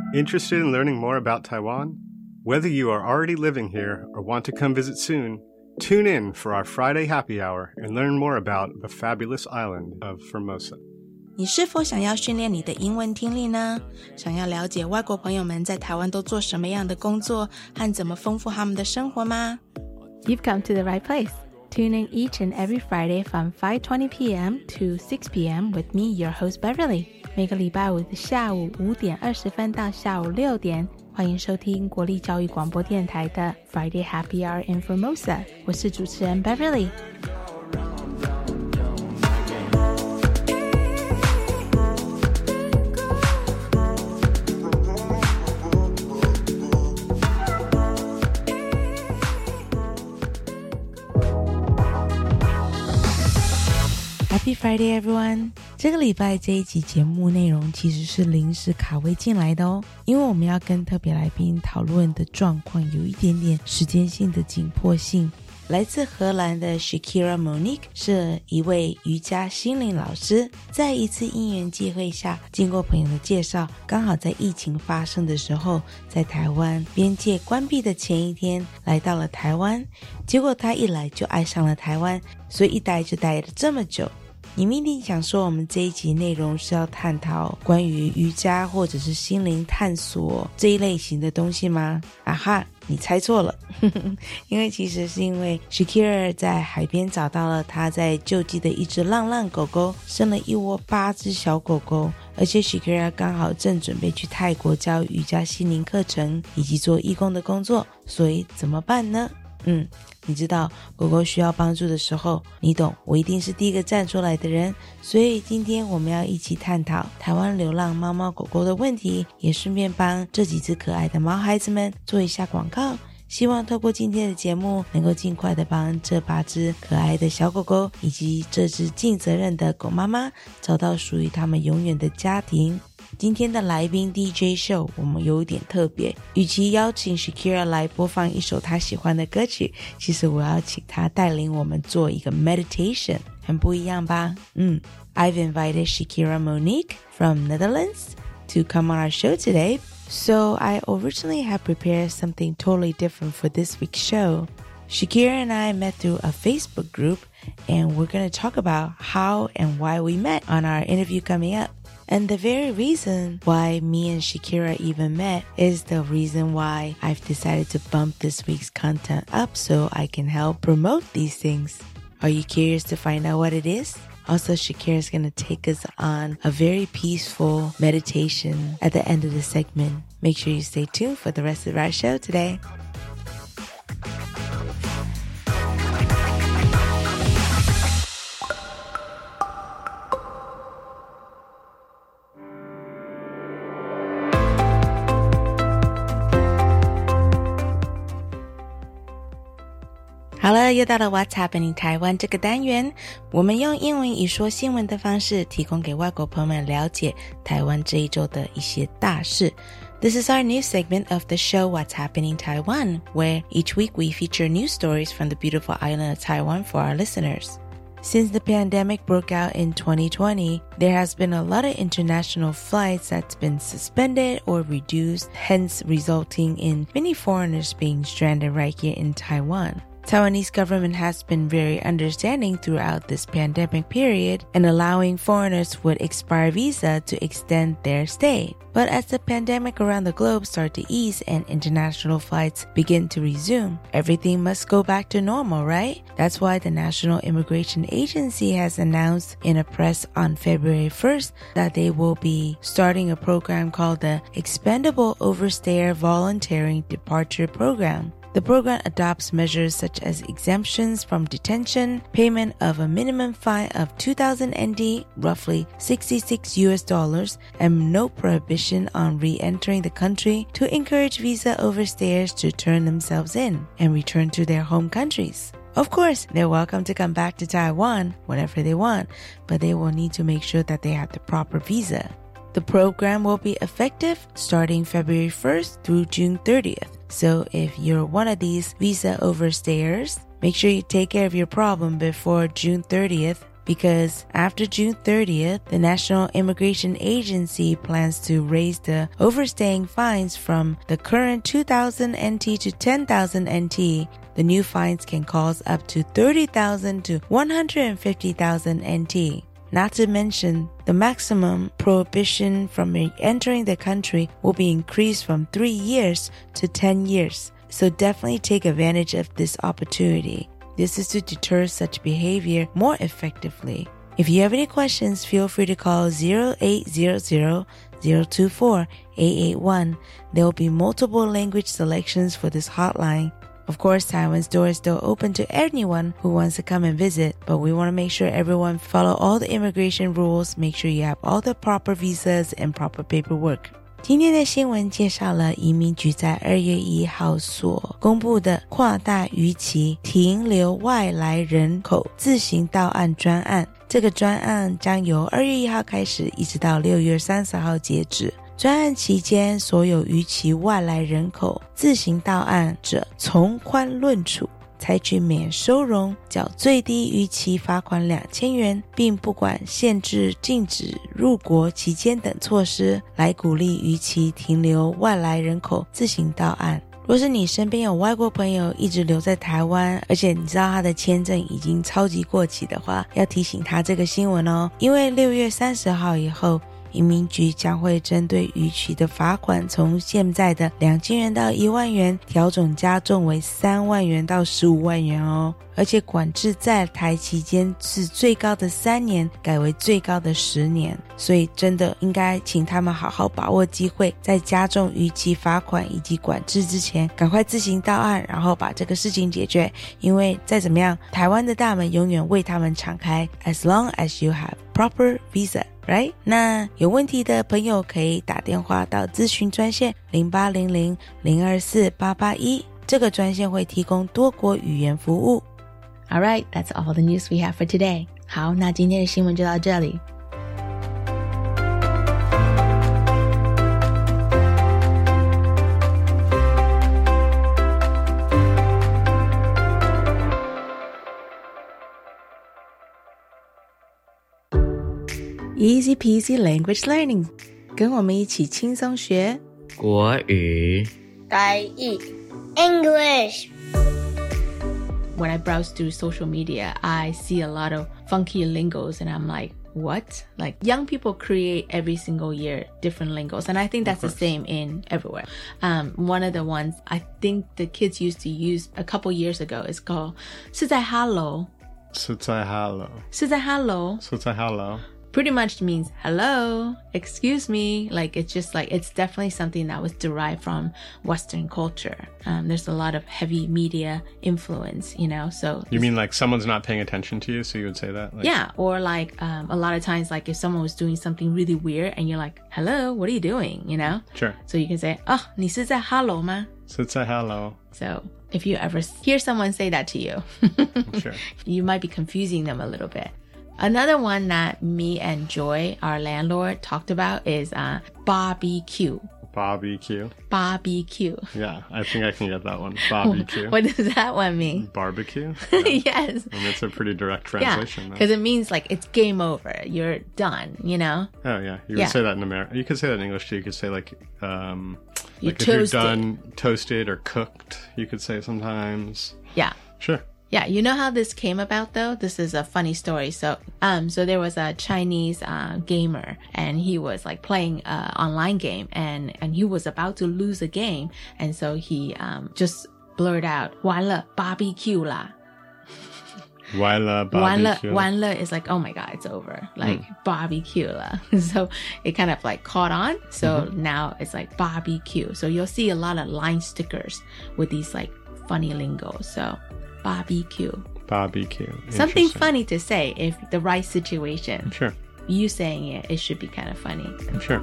Interested in learning more about Taiwan? Whether you are already living here or want to come visit soon, tune in for our Friday happy hour and learn more about the fabulous island of Formosa. 你是否想要训练你的英文听力呢？想要了解外国朋友们在台湾都做什么样的工作和怎么丰富他们的生活吗？ You've come to the right place. Tune in each and every Friday from 5:20 p.m. to 6 p.m. with me, your host Beverly. 每个礼拜五的下午5点20分到下午6点，欢迎收听国立教育广播电台的 Friday Happy Hour in Formosa。我是主持人 Beverly。Happy Friday, everyone! 这个礼拜这一集节目内容其实是临时卡位进来的哦，因为我们要跟特别来宾讨论的状况有一点点时间性的紧迫性。来自荷兰的 Shakira Monique 是一位瑜伽心灵老师，在一次因缘际会下，经过朋友的介绍，刚好在疫情发生的时候，在台湾边界关闭的前一天来到了台湾，结果他一来就爱上了台湾，所以一待就待了这么久。你们一定想说我们这一集内容是要探讨关于瑜伽或者是心灵探索这一类型的东西吗？啊哈，你猜错了因为其实是因为 Shakira 在海边找到了她在救济的一只浪浪狗狗，生了一窝8只小狗狗，而且 Shakira 刚好正准备去泰国教瑜伽心灵课程以及做义工的工作，所以怎么办呢？你知道狗狗需要帮助的时候，你懂，我一定是第一个站出来的人，所以今天我们要一起探讨台湾流浪猫猫狗狗的问题，也顺便帮这几只可爱的毛孩子们做一下广告，希望透过今天的节目能够尽快的帮这8只可爱的小狗狗以及这只尽责任的狗妈妈找到属于他们永远的家庭。今天的来宾 DJ Show 我们有点特别，与其邀请 Shakira 来播放一首她喜欢的歌曲，其实我要请她带领我们做一个 meditation， 很不一样吧？I've invited Shakira Monique from Netherlands to come on our show today, so I originally had prepared something totally different for this week's show. Shakira and I met through a Facebook group, and we're going to talk about how and why we met on our interview coming up.And the very reason why me and Shakira even met is the reason why I've decided to bump this week's content up so I can help promote these things. Are you curious to find out what it is? Also, Shakira is going to take us on a very peaceful meditation at the end of the segment. Make sure you stay tuned for the rest of our show today.好了，又到了 What's Happening 台湾这个单元，我们用英文以说新闻的方式提供给外国朋友们了解台湾这一周的一些大事。This is our new segment of the show What's Happening Taiwan, where each week we feature news stories from the beautiful island of Taiwan for our listeners. Since the pandemic broke out in 2020, there has been a lot of international flights that's been suspended or reduced, hence resulting in many foreigners being stranded right here in Taiwan.Taiwanese government has been very understanding throughout this pandemic period and allowing foreigners with expired visa to extend their stay. But as the pandemic around the globe start to ease and international flights begin to resume, everything must go back to normal, right? That's why the National Immigration Agency has announced in a press on February 1st that they will be starting a program called the Expendable Overstayer Voluntary Departure Program.The program adopts measures such as exemptions from detention, payment of a minimum fine of 2,000 NT, roughly $66, and no prohibition on re-entering the country to encourage visa overstayers to turn themselves in and return to their home countries. Of course, they're welcome to come back to Taiwan whenever they want, but they will need to make sure that they have the proper visa.The program will be effective starting February 1st through June 30th. So if you're one of these visa overstayers, make sure you take care of your problem before June 30th because after June 30th, the National Immigration Agency plans to raise the overstaying fines from the current 2,000 NT to 10,000 NT. The new fines can cost up to 30,000 to 150,000 NT. Not to mention, the maximum prohibition from entering the country will be increased from 3 years to 10 years. So definitely take advantage of this opportunity. This is to deter such behavior more effectively. If you have any questions, feel free to call 0800-024-881. There will be multiple language selections for this hotline. Of course, Taiwan's door is still open to anyone who wants to come and visit, but we want to make sure everyone follow all the immigration rules, make sure you have all the proper visas and proper paperwork. 今天的新闻介绍了移民局在2月1号所公布的跨大逾期停留外来人口自行到案专案。这个专案将由2月1号开始，一直到6月30号截止。专案期间，所有逾期外来人口自行到案者从宽论处，采取免收容、缴最低逾期罚款2000元，并不管限制、禁止入国期间等措施，来鼓励逾期停留外来人口自行到案。若是你身边有外国朋友一直留在台湾，而且你知道他的签证已经超级过期的话，要提醒他这个新闻哦，因为6月30号以后，移民局将会针对逾期的罚款从现在的2000元到1万元调整加重为3万元到15万元哦，而且管制在台期间是最高的3年改为最高的10年，所以真的应该请他们好好把握机会，在加重逾期罚款以及管制之前赶快自行到案，然后把这个事情解决，因为再怎么样台湾的大门永远为他们敞开 as long as you have proper visa。Right? 那有问题的朋友可以打电话到咨询专线0800-024-881，这个专线会提供多国语言服务。 Alright, that's all the news we have for today. 好，那今天的新闻就到这里。Easy peasy language learning， 跟我们一起轻松学国语台语 English。 When I browse through social media, I see a lot of funky lingos and I'm like, what? Like young people create every single year different lingos, and I think that's the same in everywhere. One of the ones I think the kids used to use a couple years ago is called 是在 Hello. 是在 Hello. 是在 Hello. 是在 Hello. Pretty much means hello, excuse me. Like it's just like it's definitely something that was derived from Western culture. There's a lot of heavy media influence, you know. So you mean like someone's not paying attention to you, so you would say that? Like, yeah, or like a lot of times, like if someone was doing something really weird and you're like, hello, what are you doing? You know? Sure. So you can say, 你是在 hello 吗? 是在 Hello. So if you ever hear someone say that to you, Sure. You might be confusing them a little bit. Another one that me and Joy, our landlord, talked about is barbecue. Barbecue. Barbecue. Yeah, I think I can get that one. Barbecue. What does that one mean? Barbecue? Yeah. Yes. And it's a pretty direct translation. Yeah, because it means like it's game over. You're done, you know? Oh, yeah. You would say that in America. You could say that in English too. You could say like if toasted. you're done, toasted or cooked, you could say sometimes. Yeah. Sure. Yeah, you know how this came about though? This is a funny story. So there was a Chinese gamer and he was like playing an online game and he was about to lose a game. And so he just blurted out, 完了 barbecue 啦. 完了 barbecue. 完了is like, oh my God, it's over. Like barbecue lah. So it kind of like caught on. So now it's like barbecue. So you'll see a lot of line stickers with these like funny lingos. So barbecue. Something funny to say if the right situation. Sure. You saying it should be kind of funny. Sure.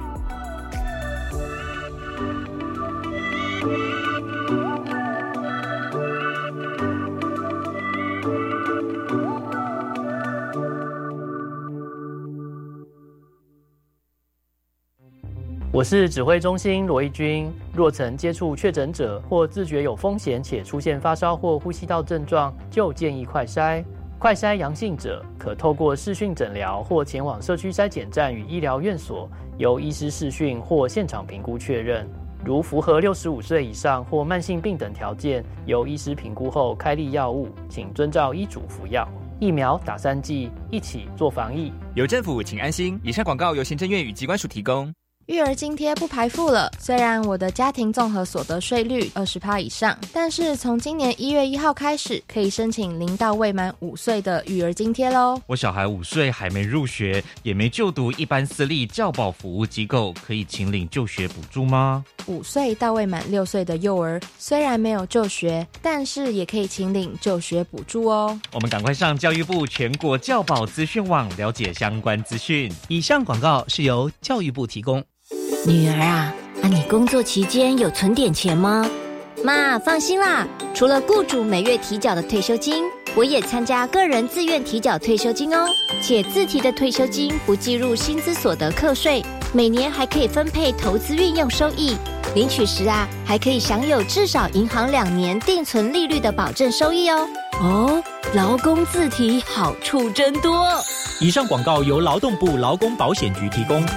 "我是指挥中心罗义军，若曾接触确诊者或自觉有风险且出现发烧或呼吸道症状，就建议快筛。 快筛阳性者可透过视讯诊疗或前往社区筛检站与医疗院所，由医师视讯或现场评估确认。如符合65岁以上或慢性病等条件，由医师评估后开立药物，请遵照医嘱服药。疫苗打3剂，一起做防疫。 有政府，请安心。以上广告由行政院与疾管署提供。 育儿津贴不排富了，虽然我的家庭综合所得税率20%以上，但是从今年1月1号开始，可以申请0到未满5岁的育儿津贴咯。 我小孩5岁还没入学，也没就读一般私立教保服务机构，可以请领就学补助吗 ？5岁到未满6岁的幼儿虽然没有就学，但是也可以请领就学补助哦。 我们赶快上教育部全国教保资讯网了解相关资讯。 以上广告是由教育部提供。 女儿啊，你工作期间有存点钱吗？ 妈，放心啦，除了雇主每月提缴的退休金，我也参加个人自愿提缴退休金哦，且自提的退休金不计入薪资所得课税，每年还可以分配投资运用收益，领取时啊，还可以享有至少银行2年定存利率的保证收益哦。 哦，劳工自提好处真多。 以上广告由劳动部劳工保险局提供。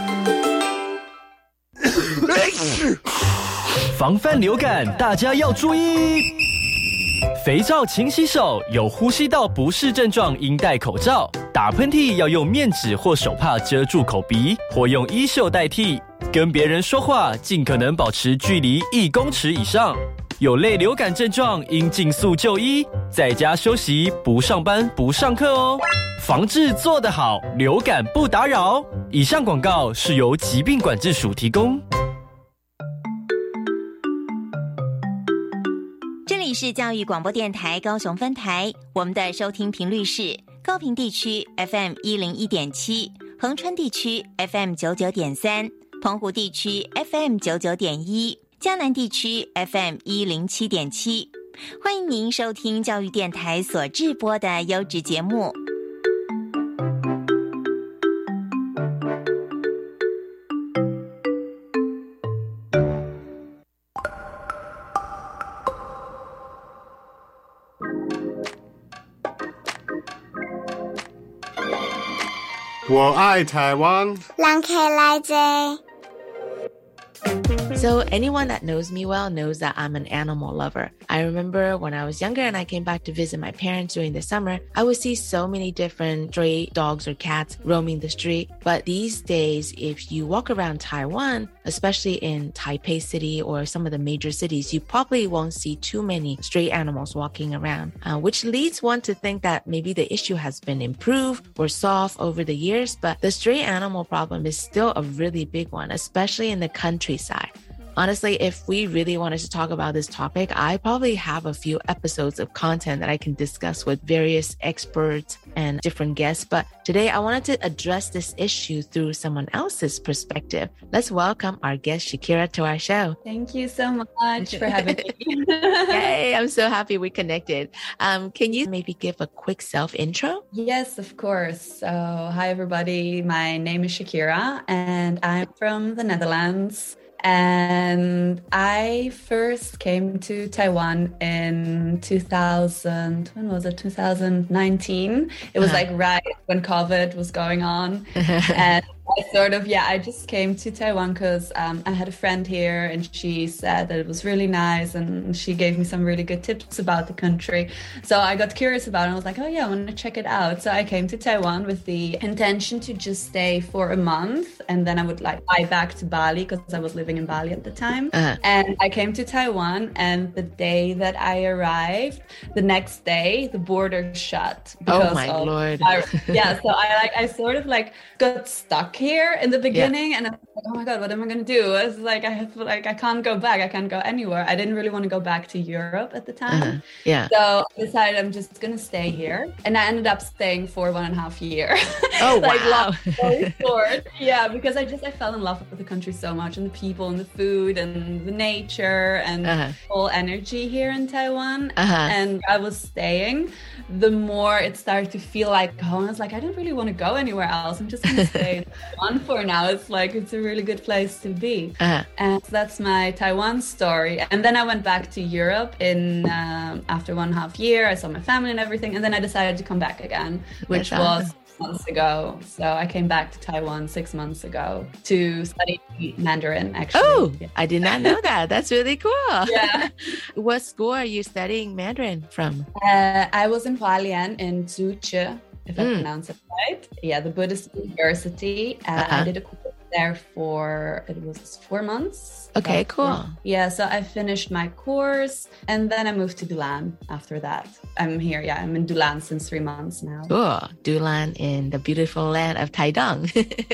防范流感，大家要注意。肥皂勤洗手，有呼吸道不适症状应戴口罩。打喷嚏要用面纸或手帕遮住口鼻，或用衣袖代替。跟别人说话尽可能保持距离1公尺以上。有类流感症状应尽速就医，在家休息，不上班不上课哦。防治做得好，流感不打扰。以上广告是由疾病管制署提供。 这里是教育广播电台高雄分台，我们的收听频率是高屏地区 FM 101.7，恒春地区 FM 99.3，澎湖地区 FM 99.1，嘉南地区 FM 107.7。欢迎您收听教育电台所制播的优质节目。 我爱台湾。 人客来坐。 So anyone that knows me well knows that I'm an animal lover. I remember when I was younger and I came back to visit my parents during the summer, I would see so many different stray dogs or cats roaming the street. But these days, if you walk around Taiwan, especially in Taipei City or some of the major cities, you probably won't see too many stray animals walking around, which leads one to think that maybe the issue has been improved or solved over the years. But the stray animal problem is still a really big one, especially in the countryside. Honestly, if we really wanted to talk about this topic, I probably have a few episodes of content that I can discuss with various experts and different guests. But today I wanted to address this issue through someone else's perspective. Let's welcome our guest, Shakira, to our show. Thank you so much for having me. Yay, I'm so happy we connected. Can you maybe give a quick self-intro? Yes, of course. So, hi, everybody. My name is Shakira, and I'm from the Netherlands. And I first came to Taiwan in 2019. It was like right when COVID was going on. And I just came to Taiwan because I had a friend here and she said that it was really nice and she gave me some really good tips about the country. So I got curious about it and I was like, oh yeah, I want to check it out. So I came to Taiwan with the intention to just stay for a month and then I would fly back to Bali because I was living in Bali at the time. And I came to Taiwan and the day that I arrived, the next day, the border shut. Oh my Lord. So I sort of got stuck here in the beginning and I was like, oh my God, what am I going to do? I was like, I can't go back. I can't go anywhere. I didn't really want to go back to Europe at the time. So I decided I'm just going to stay here. And I ended up staying for 1.5 years. Oh, wow. Very short. Yeah, because I fell in love with the country so much and the people and the food and the nature and the whole energy here in Taiwan. And I was staying. The more it started to feel like home, I was like, I don't really want to go anywhere else. I'm just going to stay. Taiwan for now. It's a really good place to be. And that's my Taiwan story. And then I went back to Europe after 1.5 years. I saw my family and everything. And then I decided to come back again, which was months ago. So I came back to Taiwan 6 months ago to study Mandarin, actually. Oh, yeah. I did not know that. That's really cool. Yeah. What school are you studying Mandarin from? I was in Hualien in Zhuche, if I pronounce it right. Yeah, the Buddhist University. I did a course there for, it was 4 months. Okay, cool. Yeah, so I finished my course and then I moved to Dulan after that. I'm here, I'm in Dulan since 3 months now. Cool. Dulan in the beautiful land of Taidong.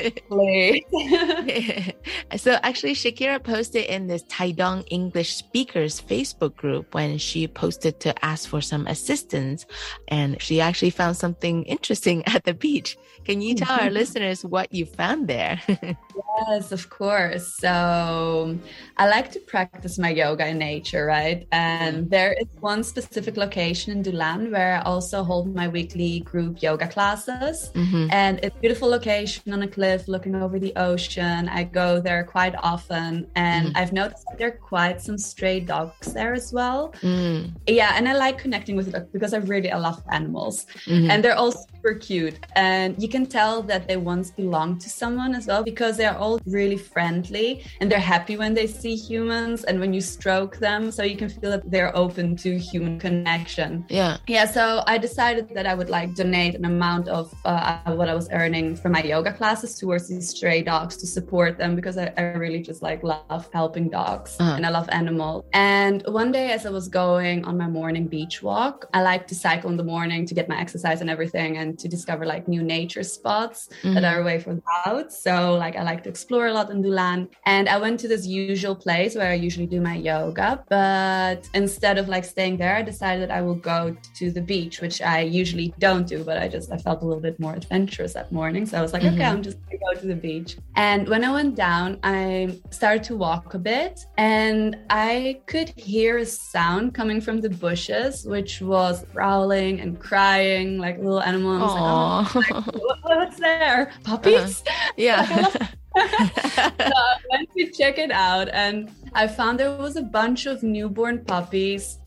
So actually, Shakira posted in this Taidong English speakers Facebook group when she posted to ask for some assistance, and she actually found something interesting at the beach. Can you tell our listeners what you found there? Yes, of course. So I like to practice my yoga in nature, right? And there is one specific location in Dulan where I also hold my weekly group yoga classes. And it's a beautiful location on a cliff looking over the ocean. I go there quite often, and I've noticed that there are quite some stray dogs there as well. Yeah, and I like connecting with dogs because I love animals. And they're all super cute. And you can tell that they once belonged to someone as well, because they're all really friendly and they're happy when they see humans and when you stroke them, so you can feel that they're open to human connection. Yeah, so I decided that I would donate an amount of what I was earning from my yoga classes towards these stray dogs to support them, because I really just love helping dogs and I love animals. And one day, as I was going on my morning beach walk, I like to cycle in the morning to get my exercise and everything, and to discover new nature spots that are away from the house. So I like to explore a lot in Dulan, and I went to this usual place where I usually do my yoga, but instead of staying there, I decided I will go to the beach, which I usually don't do, but I felt a little bit more adventurous that morning. So I was okay, I'm just gonna go to the beach. And when I went down, I started to walk a bit, and I could hear a sound coming from the bushes, which was growling and crying like a little animal. And I was what's there? Puppies? Yeah. So I went to check it out, and I found there was a bunch of newborn puppies.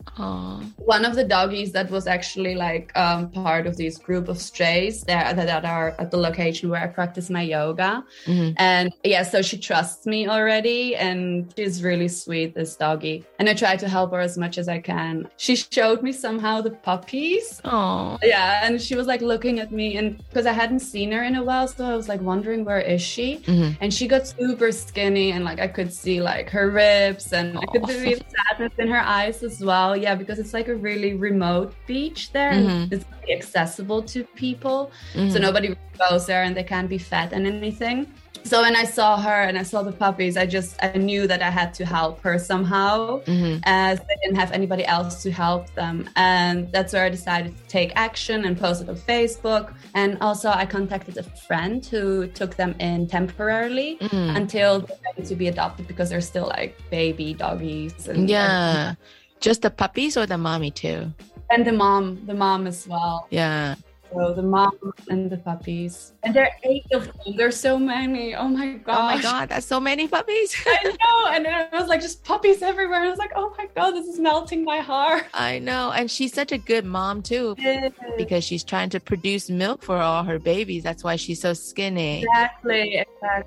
One of the doggies that was actually part of this group of strays that are at the location where I practice my yoga. And yeah, so she trusts me already, and she's really sweet, this doggie. And I try to help her as much as I can. She showed me somehow the puppies. Yeah, and she was looking at me, and because I hadn't seen her in a while, so I was wondering, where is she? And she got super skinny, and I could see her ribs, and I could see the sadness in her eyes as well. Yeah, because it's a really remote beach there, and it's really accessible to people, so nobody really goes there, and they can't be fed and anything. So when I saw her and I saw the puppies, I knew that I had to help her somehow, as I didn't have anybody else to help them. And that's where I decided to take action and post it on Facebook. And also I contacted a friend who took them in temporarily until they're ready to be adopted, because they're still baby doggies. And Just the puppies or the mommy too? And the mom as well. Yeah. So the mom and the puppies. And there are 8 of them. There's so many. Oh my gosh. Oh my God, that's so many puppies. I know. And it was just puppies everywhere. And I was oh my God, this is melting my heart. I know. And she's such a good mom too, because she's trying to produce milk for all her babies. That's why she's so skinny. Exactly.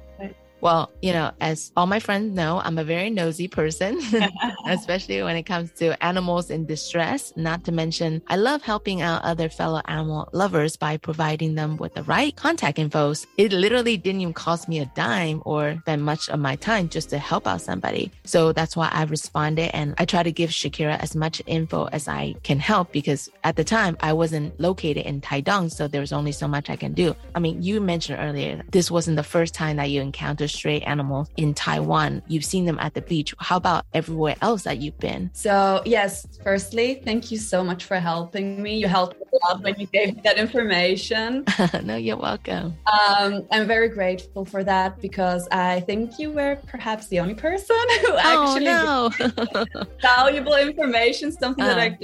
Well, as all my friends know, I'm a very nosy person, especially when it comes to animals in distress. Not to mention, I love helping out other fellow animal lovers by providing them with the right contact infos. It literally didn't even cost me a dime or spend much of my time just to help out somebody. So that's why I responded, and I try to give Shakira as much info as I can help, because at the time I wasn't located in Taidong, so there was only so much I can do. I mean, you mentioned earlier, this wasn't the first time that you encountered stray animals in Taiwan. You've seen them at the beach. How about everywhere else that you've been? So yes, firstly, thank you so much for helping me. You helped me a lot when you gave me that information. No, you're welcome. I'm very grateful for that, because I think you were perhaps the only person who actually valuable information, something that I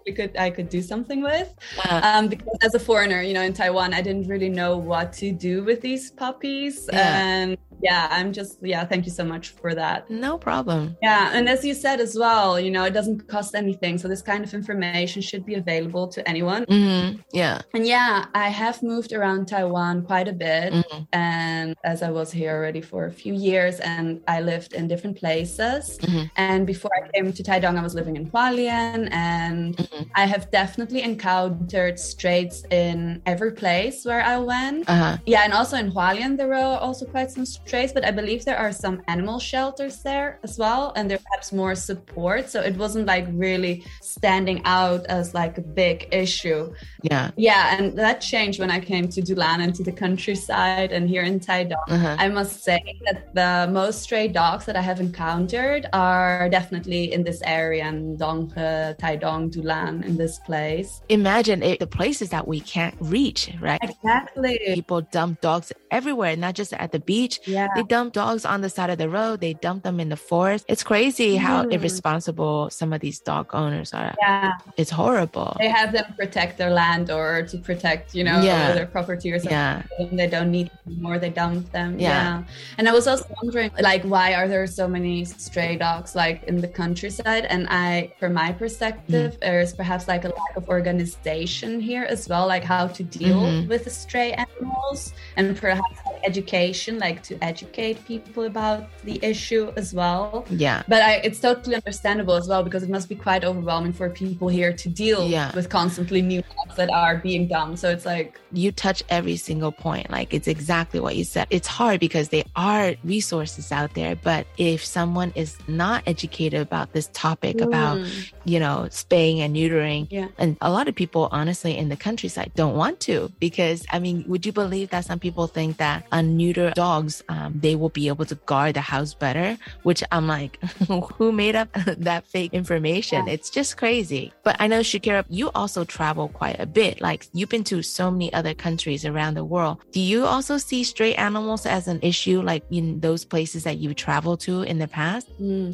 I could do something with. Because as a foreigner, you know, in Taiwan, I didn't really know what to do with these puppies. And I'm just, thank you so much for that. No problem. Yeah. And as you said as well, you know, it doesn't cost anything. So this kind of information should be available to anyone. Yeah. And I have moved around Taiwan quite a bit. And as I was here already for a few years and I lived in different places. And before I came to Taidong, I was living in Hualien, and I have definitely encountered strays in every place where I went. Yeah. And also in Hualien, there were also quite some strays, but I believe there are some animal shelters there as well. And there's perhaps more support. So it wasn't like really standing out as like a big issue. Yeah. Yeah. And that changed when I came to Dulan and to the countryside and here in Taidong. I must say that the most stray dogs that I have encountered are definitely in this area, in Donghe, Taidong, Dulan, in this place. Imagine the places that we can't reach, right? Exactly. People dump dogs everywhere, not just at the beach. Yeah. They dump dogs on the side of the road. They dump them in the forest. It's crazy how irresponsible some of these dog owners are. Yeah. It's horrible. They have them protect their land or to protect, you know, their property or something. Yeah. They don't need it anymore. They dump them. Yeah. And I was also wondering, like, why are there so many stray dogs, like, in the countryside? And from my perspective, there's perhaps like a lack of organization here as well, like how to deal with the stray animals, and perhaps like education, like to educate people about the issue as well. Yeah. But it's totally understandable as well, because it must be quite overwhelming for people here to deal with constantly new dogs that are being dumped. So it's like, you touch every single point. Like, it's exactly what you said. It's hard because there are resources out there, but if someone is not educated about this topic about, you know, spaying and neutering, and a lot of people honestly in the countryside don't want to, because I mean, would you believe that some people think that unneutered dogs, they will be able to guard the house better, which I'm like, who made up that fake information? It's just crazy. But I know, Shakira, you also travel quite a bit. Like, you've been to so many other countries around the world. Do you also see stray animals as an issue, like in those places that you traveled to in the past?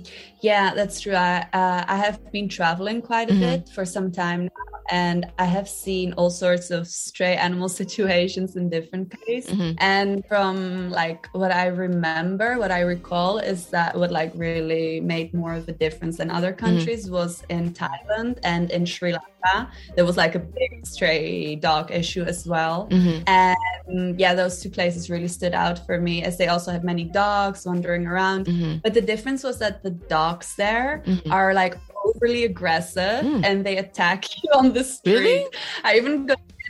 Yeah, that's true. I have been traveling quite a bit for some time now, and I have seen all sorts of stray animal situations in different places. And from like what I recall is that what like really made more of a difference than other countries was in Thailand and in Sri Lanka. There was like a big stray dog issue as well. And those two places really stood out for me, as they also had many dogs wandering around. But the difference was that the dogs there are like overly aggressive and they attack you on the street. Really? I even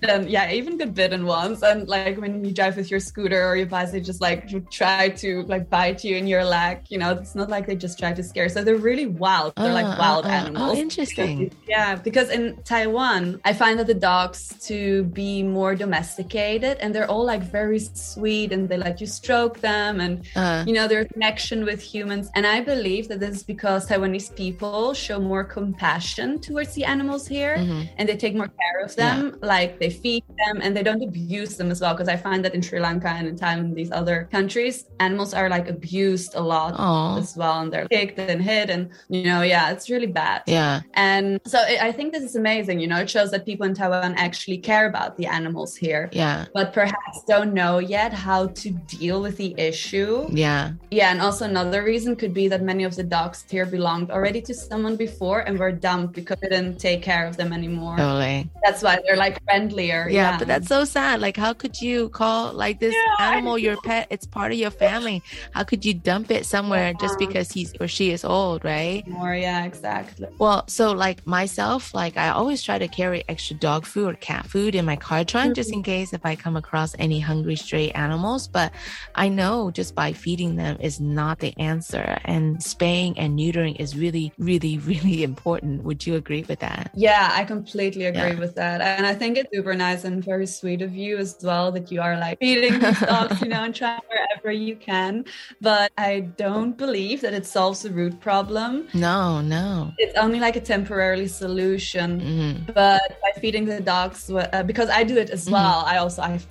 got bitten once. And like when you drive with your scooter or your bike, they just like try to like bite you in your leg. You know, it's not like they just try to scare. So they're really wild. They're like wild animals. Oh, interesting. Because in Taiwan, I find that the dogs to be more domesticated, and they're all like very sweet, and they let you stroke them, and you know, their connection with humans. And I believe that this is because Taiwanese people show more compassion towards the animals here, and they take more care of them. Like, they feed them and they don't abuse them as well, because I find that in Sri Lanka and in Thailand, these other countries, animals are like abused a lot as well, and they're kicked and hit, and you know, it's really bad. And so I think this is amazing. You know, it shows that people in Taiwan actually care about the animals here, but perhaps don't know yet how to deal with the issue. And also another reason could be that many of the dogs here belonged already to someone before and were dumped because they didn't take care of them anymore. Totally. That's why they're like friendlier. But that's so sad. Like, how could you call like this animal your pet? It's part of your family. How could you dump it somewhere just because he's or she is old, right? Exactly. Well, so like myself, like I always try to carry extra dog food or cat food in my car trunk just in case if I come across any hungry stray animals. But I know just by feeding them is not the answer, and spaying and neutering is really, really, really important. Would you agree with that? Yeah, I completely agree with that. And I think it's super nice and very sweet of you as well that you are like feeding these dogs, you know, and trying wherever you can. But I don't believe that it solves the root problem. No. It's only like a temporary solution. But by feeding the dogs, because I do it as well, I feed them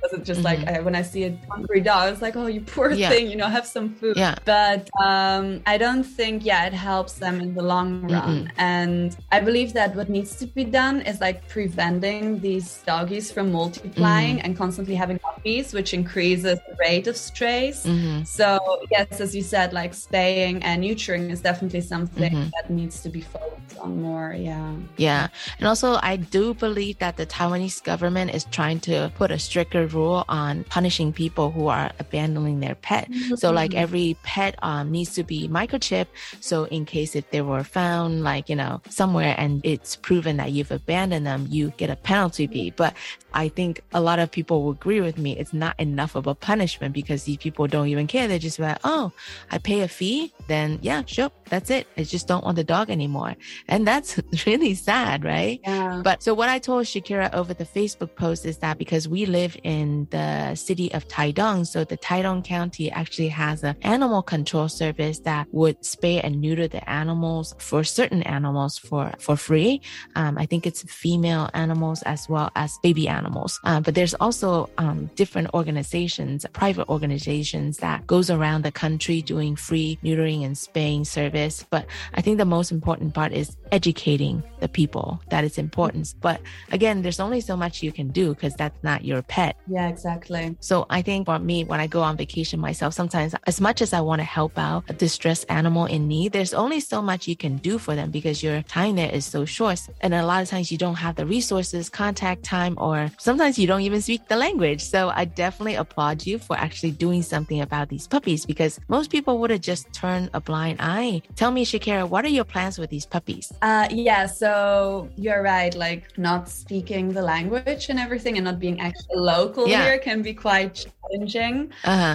because it's just like when I see a hungry dog, it's like, oh, you poor thing, you know, have some food. But I don't think it helps them in the long run. And I believe that what needs to be done is like preventing these doggies from multiplying and constantly having puppies, which increases the rate of strays. So yes, as you said, like spaying and neutering is definitely something that needs to be focused on more. And also I do believe that the Taiwanese government is trying to put a stricter rule on punishing people who are abandoning their pet. So like every pet needs to be microchipped, so in case if they were found like, you know, somewhere and it's proven that you've abandoned them, you get a penalty fee. But I think a lot of people will agree with me, it's not enough of a punishment because these people don't even care. They're just like, oh, I pay a fee, then sure, that's it. I just don't want the dog anymore. And that's really sad, right? But so what I told Shakira over the Facebook post is that because we live in the city of Taidong, so the Taidong County actually has an animal control service that would spay and neuter the animals for certain animals for free. I think it's female animals as well as baby animals. But there's also different organizations, private organizations that goes around the country doing free neutering and spaying service. But I think the most important part is educating the people that it's important. But again, there's only so much you can do because that's not your pet. Yeah, exactly. So I think for me, when I go on vacation myself, sometimes as much as I want to help out a distressed animal in need, there's only so much you can do for them because your time there is so short. And a lot of times you don't have the resources, contact time, or sometimes you don't even speak the language. So I definitely applaud you for actually doing something about these puppies because most people would have just turned a blind eye. Tell me, Shakira, what are your plans with these puppies? So you're right, like not speaking the language and everything and not being actually local here can be quite challenging.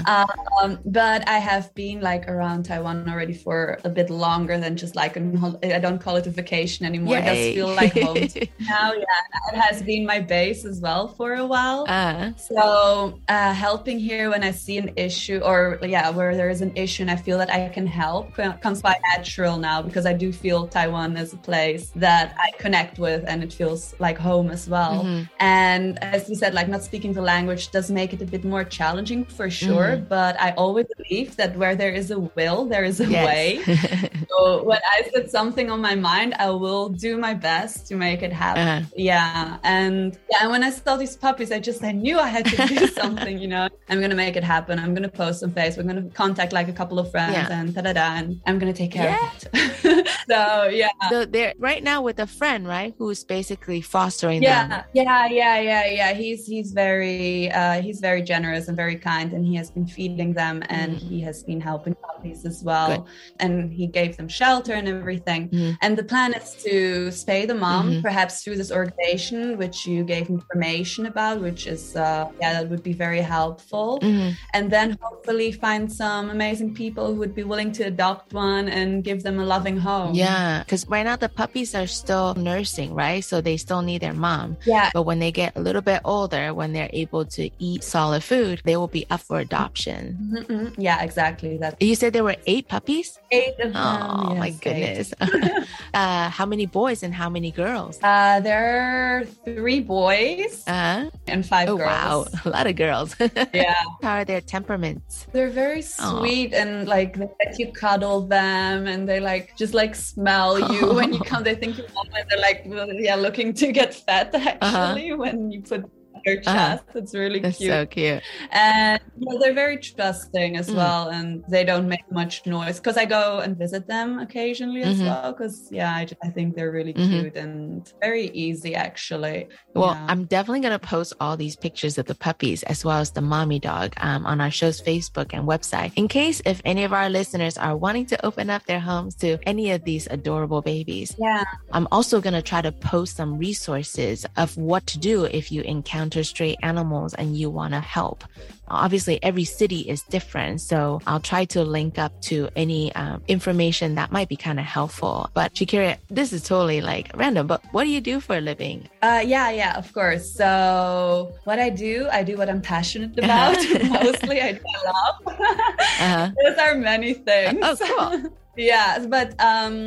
But I have been like around Taiwan already for a bit longer than just like I don't call it a vacation anymore. It does feel like home now. It has been my base as well for a while. So helping here when I see an issue or where there is an issue and I feel that I can help comes quite natural now because I do feel Taiwan as a place that I connect with and it feels like home as well. And as you said, like not speaking the language does make it a bit more challenging for sure, but I always believe that where there is a will, there is a way. So when I set something on my mind, I will do my best to make it happen. And when I saw these puppies, I knew I had to do something, you know. I'm going to make it happen. I'm going to post on Facebook. I'm going to contact like a couple of friends and and I'm going to take care of it. So they're right now with a friend, right? Who's basically fostering them. He's very generous and very kind, and he has been feeding them and he has been helping puppies as well. And he gave them shelter and everything. And the plan is to spay the mom, perhaps through this organization, which you gave information about, which is, that would be very helpful. And then hopefully find some amazing people who would be willing to adopt one and give them a loving home. Because right now the puppies are still nursing, right? So they still need their mom. But when they get a little bit older, when they're able to eat solid food, they will be up for adoption. Yeah, exactly. You said there were 8 puppies? 8 of them. Oh, my goodness. How many boys and how many girls? There are 3 boys and 5 girls. Wow, a lot of girls. How are their temperaments? They're very sweet and like they let you cuddle them and they like just like smell you when you come. They think you're mom and they're like looking to get fed actually when you put their chest. It's really cute. That's so cute. And they're very trusting as well, and they don't make much noise because I go and visit them occasionally as well because I think they're really cute and very easy actually. Well, I'm definitely going to post all these pictures of the puppies as well as the mommy dog on our show's Facebook and website in case if any of our listeners are wanting to open up their homes to any of these adorable babies. I'm also going to try to post some resources of what to do if you encounter stray animals and you want to help. Obviously, every city is different, so I'll try to link up to any information that might be kind of helpful. But Shakira, this is totally like random, but what do you do for a living? Of course. So what I do what I'm passionate about. Mostly I love. Those are many things. Oh, cool. But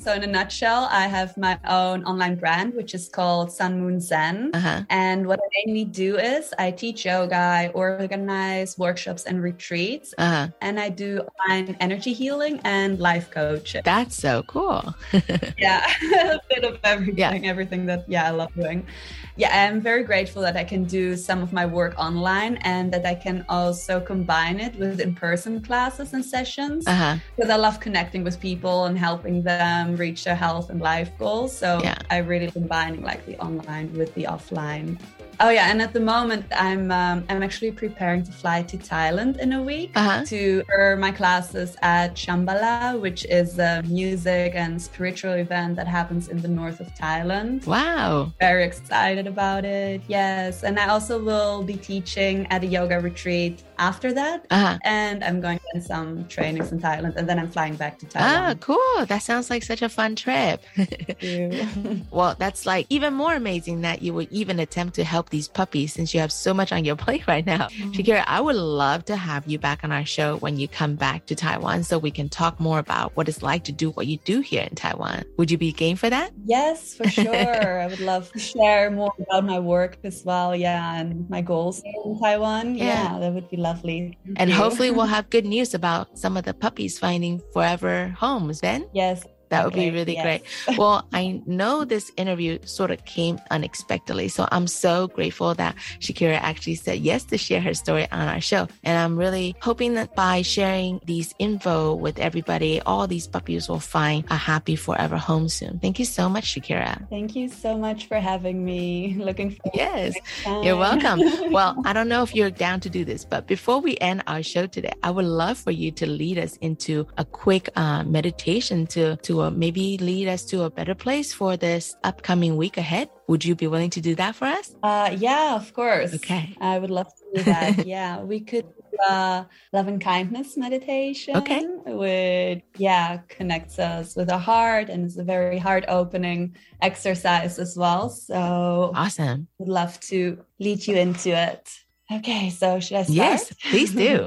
So in a nutshell, I have my own online brand, which is called Sun Moon Zen. And what I mainly do is I teach yoga, I organize workshops and retreats, and I do online energy healing and life coaching. That's so cool. Yeah, a bit of everything, everything that, I love doing. Yeah, I'm very grateful that I can do some of my work online and that I can also combine it with in-person classes and sessions. Because I love connecting with people and helping them reach their health and life goals. So I really combining like the online with the offline. Oh yeah, and at the moment I'm actually preparing to fly to Thailand in a week to my classes at Shambhala, which is a music and spiritual event that happens in the north of Thailand. Wow. Very excited about it. Yes. And I also will be teaching at a yoga retreat after that. And I'm going to get some trainings in Thailand and then I'm flying back to Thailand. Cool. That sounds like such a fun trip. Thank you. Well, that's like even more amazing that you would even attempt to help these puppies since you have so much on your plate right now. Shakira, I would love to have you back on our show when you come back to Taiwan so we can talk more about what it's like to do what you do here in Taiwan. Would you be game for that? Yes, for sure. I would love to share more about my work as well. Yeah, and my goals in Taiwan. Yeah, that would be lovely. And hopefully we'll have good news about some of the puppies finding forever homes then. Yes. That would be really great. Well, I know this interview sort of came unexpectedly. So I'm so grateful that Shakira actually said yes to share her story on our show. And I'm really hoping that by sharing these info with everybody, all these puppies will find a happy forever home soon. Thank you so much, Shakira. Thank you so much for having me. Looking forward to next time. You're welcome. Well, I don't know if you're down to do this, but before we end our show today, I would love for you to lead us into a quick meditation to maybe lead us to a better place for this upcoming week ahead. Would you be willing to do that for us? Yeah, of course. Okay. I would love to do that. Yeah, we could do a love and kindness meditation. Okay. Which, connects us with our heart and is a very heart-opening exercise as well. So awesome. Would love to lead you into it. Okay, so should I start? Yes, please do.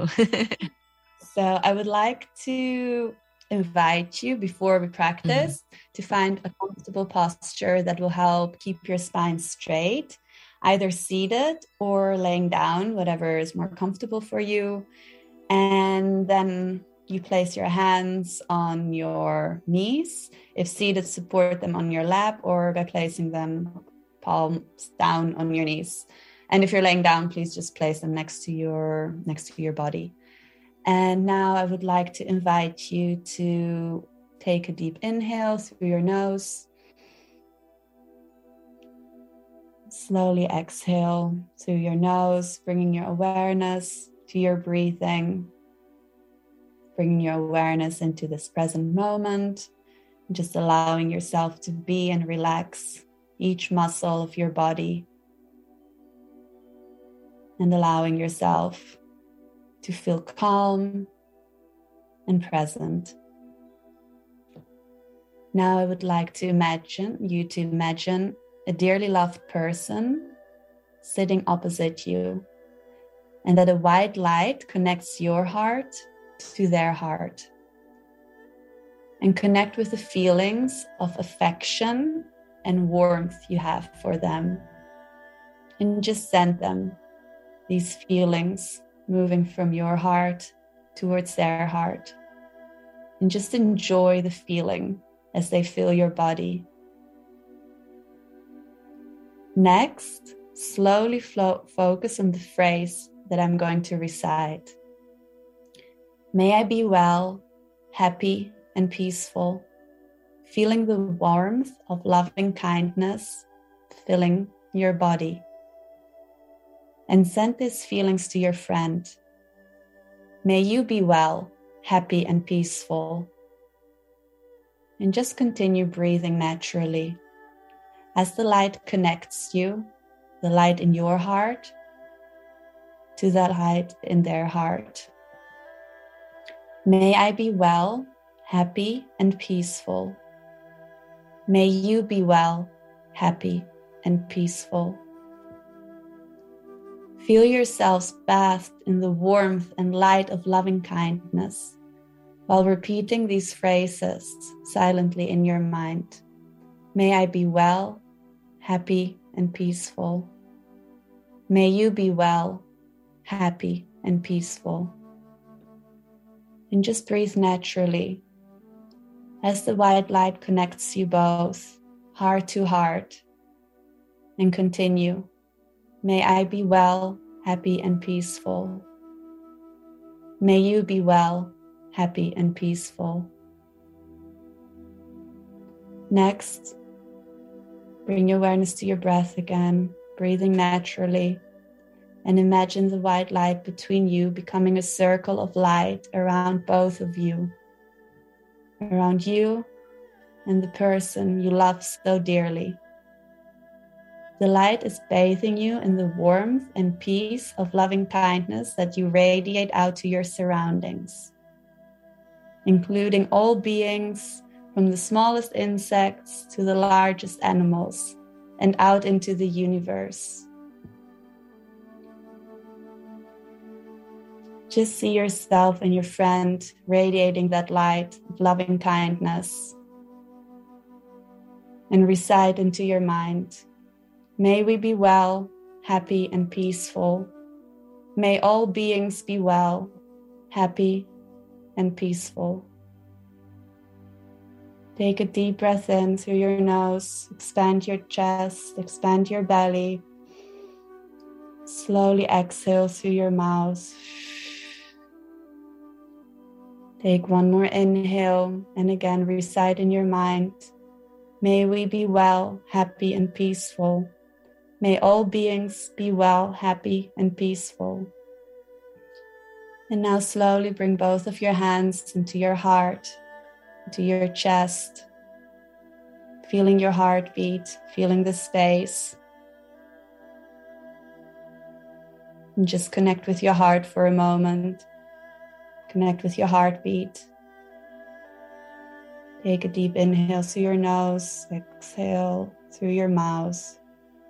So I would like to invite you before we practice to find a comfortable posture that will help keep your spine straight, either seated or laying down, whatever is more comfortable for you. And then you place your hands on your knees. If seated, support them on your lap or by placing them palms down on your knees. And if you're laying down, please just place them next to your body. And now I would like to invite you to take a deep inhale through your nose. Slowly exhale through your nose, bringing your awareness to your breathing, bringing your awareness into this present moment, just allowing yourself to be and relax each muscle of your body, and allowing yourself to feel calm and present. Now I would like to imagine a dearly loved person sitting opposite you, and that a white light connects your heart to their heart. And connect with the feelings of affection and warmth you have for them. And just send them these feelings moving from your heart towards their heart. And just enjoy the feeling as they fill your body. Next, slowly focus on the phrase that I'm going to recite. May I be well, happy, and peaceful, feeling the warmth of loving kindness filling your body. And send these feelings to your friend. May you be well, happy, and peaceful. And just continue breathing naturally. As the light connects you, the light in your heart, to that light in their heart. May I be well, happy, and peaceful. May you be well, happy, and peaceful. Feel yourselves bathed in the warmth and light of loving kindness, while repeating these phrases silently in your mind. May I be well, happy, and peaceful. May you be well, happy, and peaceful. And just breathe naturally as the white light connects you both, heart to heart. And continue. May I be well, happy, and peaceful. May you be well, happy, and peaceful. Next, bring your awareness to your breath again, breathing naturally, and imagine the white light between you becoming a circle of light around both of you, around you and the person you love so dearly. The light is bathing you in the warmth and peace of loving kindness that you radiate out to your surroundings, including all beings from the smallest insects to the largest animals and out into the universe. Just see yourself and your friend radiating that light of loving kindness and recite into your mind, may we be well, happy, and peaceful. May all beings be well, happy, and peaceful. Take a deep breath in through your nose, expand your chest, expand your belly. Slowly exhale through your mouth. Take one more inhale and again recite in your mind, may we be well, happy, and peaceful. May all beings be well, happy, and peaceful. And now slowly bring both of your hands into your heart, into your chest, feeling your heartbeat, feeling the space. And just connect with your heart for a moment. Connect with your heartbeat. Take a deep inhale through your nose, exhale through your mouth.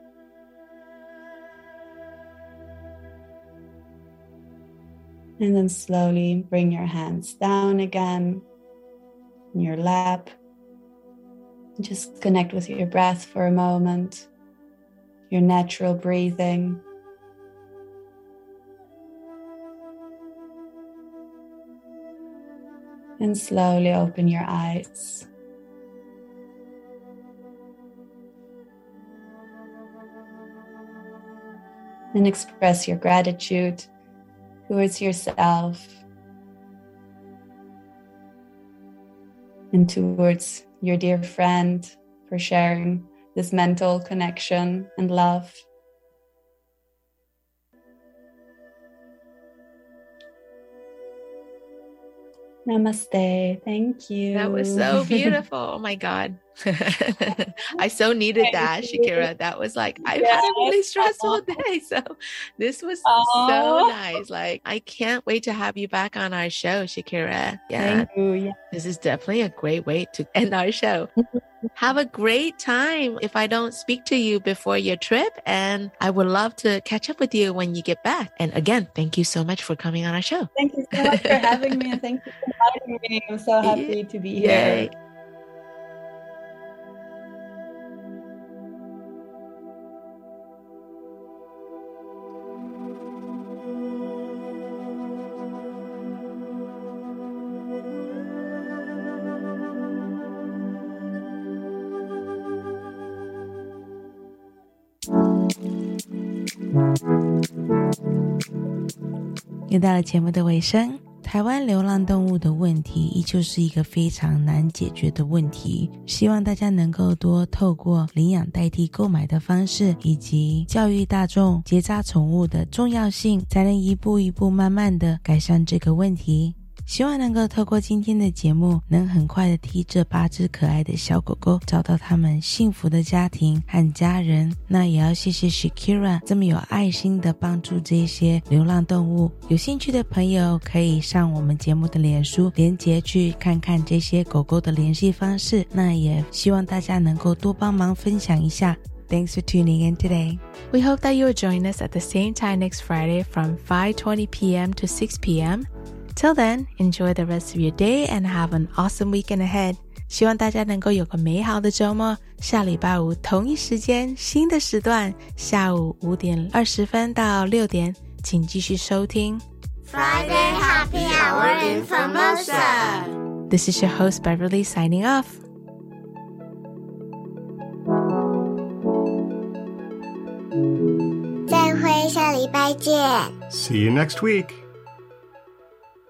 And then slowly bring your hands down again in your lap. Just connect with your breath for a moment, your natural breathing. And slowly open your eyes. And express your gratitude towards yourself and towards your dear friend for sharing this mental connection and love. Namaste. Thank you. That was so beautiful. Oh my God. I so needed that, Shakira. That was like, I've had a really stressful day. So this was so nice. Like, I can't wait to have you back on our show, Shakira. Yeah. Thank you. Yeah. This is definitely a great way to end our show. Have a great time if I don't speak to you before your trip. And I would love to catch up with you when you get back. And again, thank you so much for coming on our show. Thank you so much for having me. And thank you for inviting me. I'm so happy to be here. 又到了节目的尾声，台湾流浪动物的问题依旧是一个非常难解决的问题，希望大家能够多透过领养代替购买的方式，以及教育大众结扎宠物的重要性，才能一步一步慢慢的改善这个问题。希望能够透过今天的节目，能很快的替这8只可爱的小狗狗找到他们幸福的家庭和家人。那也要谢谢 Shakira 这么有爱心的帮助这些流浪动物。有兴趣的朋友可以上我们节目的脸书连结去看看这些狗狗的联系方式。那也希望大家能够多帮忙分享一下。Thanks for tuning in today. We hope that you will join us at the same time next Friday from 5:20 p.m. to 6 p.m. Till then, enjoy the rest of your day and have an awesome weekend ahead. 希望大家能够有个美好的周末。下礼拜五同一时间，新的时段，下午5点20分到6点，请继续收听 Friday Happy Hour in Formosa. This is your host Beverly signing off. 再会，下礼拜见。 See you next week.